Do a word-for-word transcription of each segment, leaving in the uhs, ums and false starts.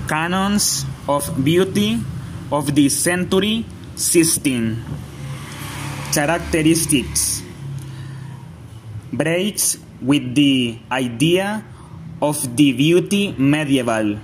Canons of beauty of the century sixteen. Characteristics. Breaks with the idea of the beauty medieval.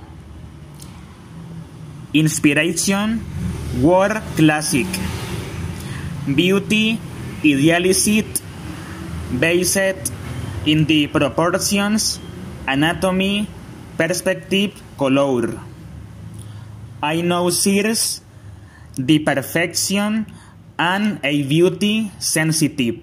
Inspiration, war classic. Beauty idealized, based in the proportions, anatomy, perspective, color. I know sears the perfection and a beauty sensitive.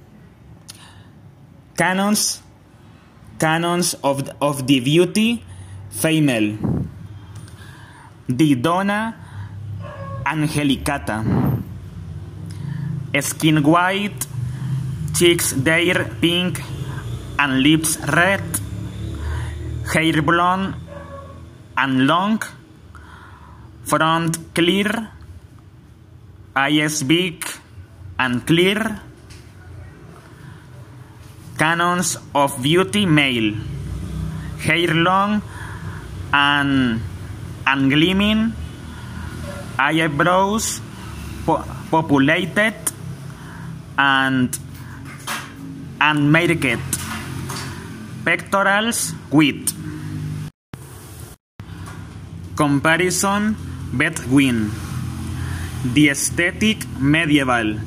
Canons, canons of, of the beauty female. The Donna Angelicata. Skin white, cheeks there pink and lips red, hair blonde and long, front clear, eyes big and clear. Canons of beauty male. Hair long and, and gleaming, eyebrows po populated and, and marked, pectorals with. Comparison between the aesthetic medieval.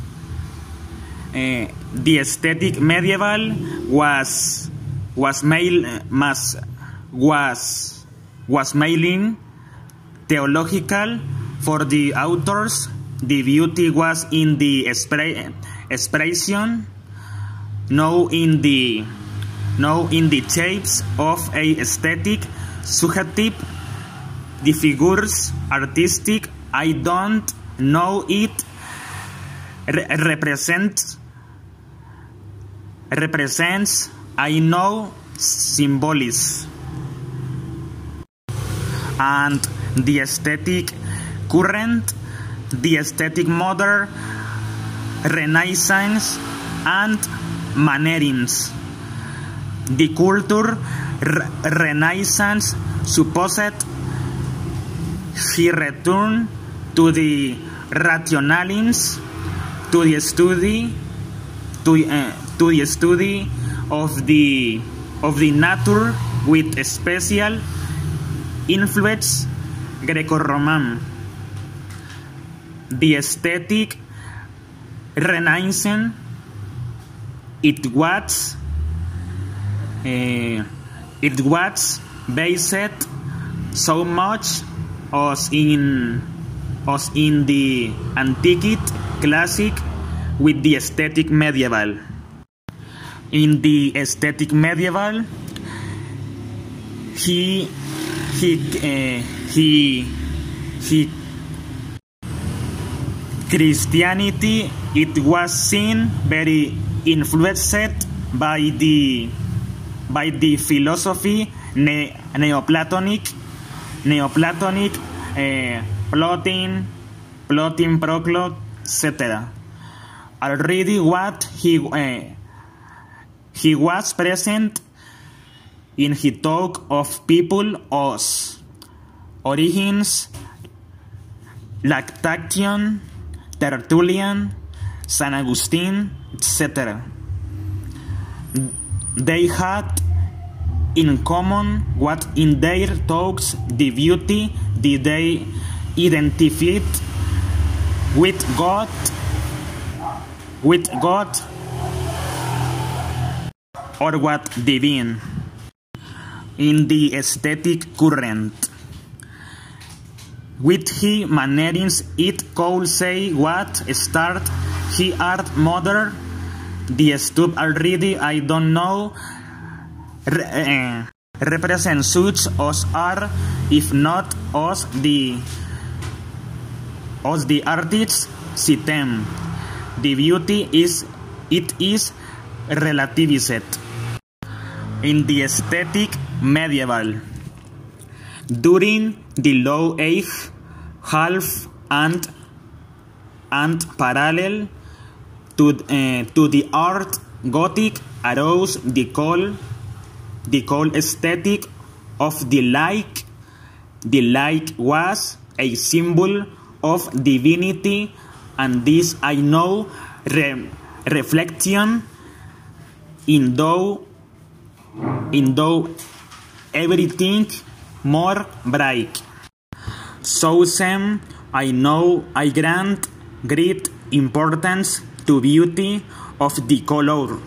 Uh, the aesthetic medieval was was male mas, was was mailing theological for the authors. The beauty was in the expression, no in the no in the shapes of a aesthetic subjective. The figures artistic, I don't know it re represents represents I know symbolism. And the aesthetic current, the aesthetic modern, Renaissance and mannerings. The culture re Renaissance supposed he returned to the rationalins, to the study, to, uh, to the study of the of the nature with special influence Greco-Roman. The aesthetic Renaissance, it was uh, it was based so much as in as in the antique classic with the aesthetic medieval. In the aesthetic medieval, he he uh, he he Christianity, it was seen very influenced by the by the philosophy ne Neoplatonic Neoplatonic uh, plotting plotting Proclus, et cetera. Already what he uh, he was present in his talk of people as Origins, Lactation, Tertullian, San Agustin, et cetera. They had in common what in their talks the beauty did they identified with God, with God, or what divine. In the aesthetic current, with he mannerings, it could say what start he art mother, the stuff already I don't know, re uh, represent such as are, if not as the as the artists see them. The beauty is it is relativized. In the aesthetic medieval, during the low age, half and and parallel to uh, to the art Gothic arose the call the call aesthetic of the like the light was a symbol of divinity, and this I know re reflection in though in though everything more bright. So same I know I grant great importance to beauty of the color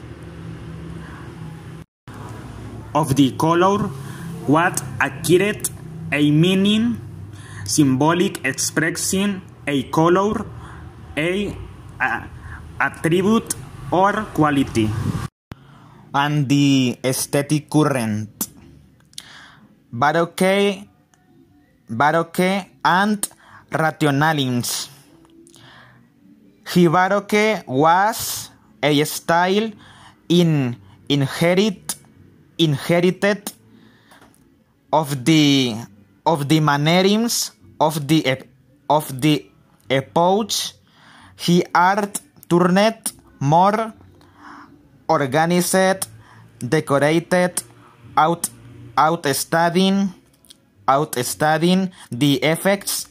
of the color, what accurate a meaning, symbolic expressing a color, a, a attribute or quality. And the aesthetic current. Baroque, Baroque and rationalism. The Baroque was a style in inherit, inherited of the of the mannerisms of the of the epoch. The art turned more organized, decorated, out outstudying outstudying the effects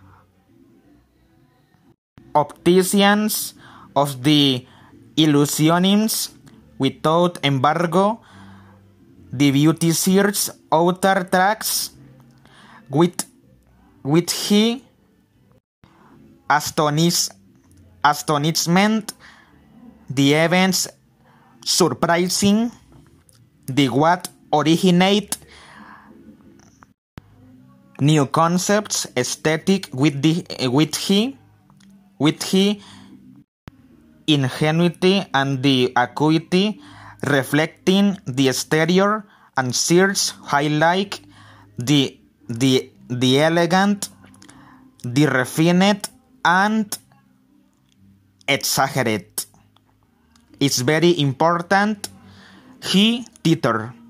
opticians of the illusionists. Without embargo, the beauty search outer tracks with with he astonish astonishment, the events surprising, the what originate new concepts aesthetic with the with he with he ingenuity and the acuity reflecting the exterior and search highlight the the the elegant, the refined and exaggerate. It's very important. He theater.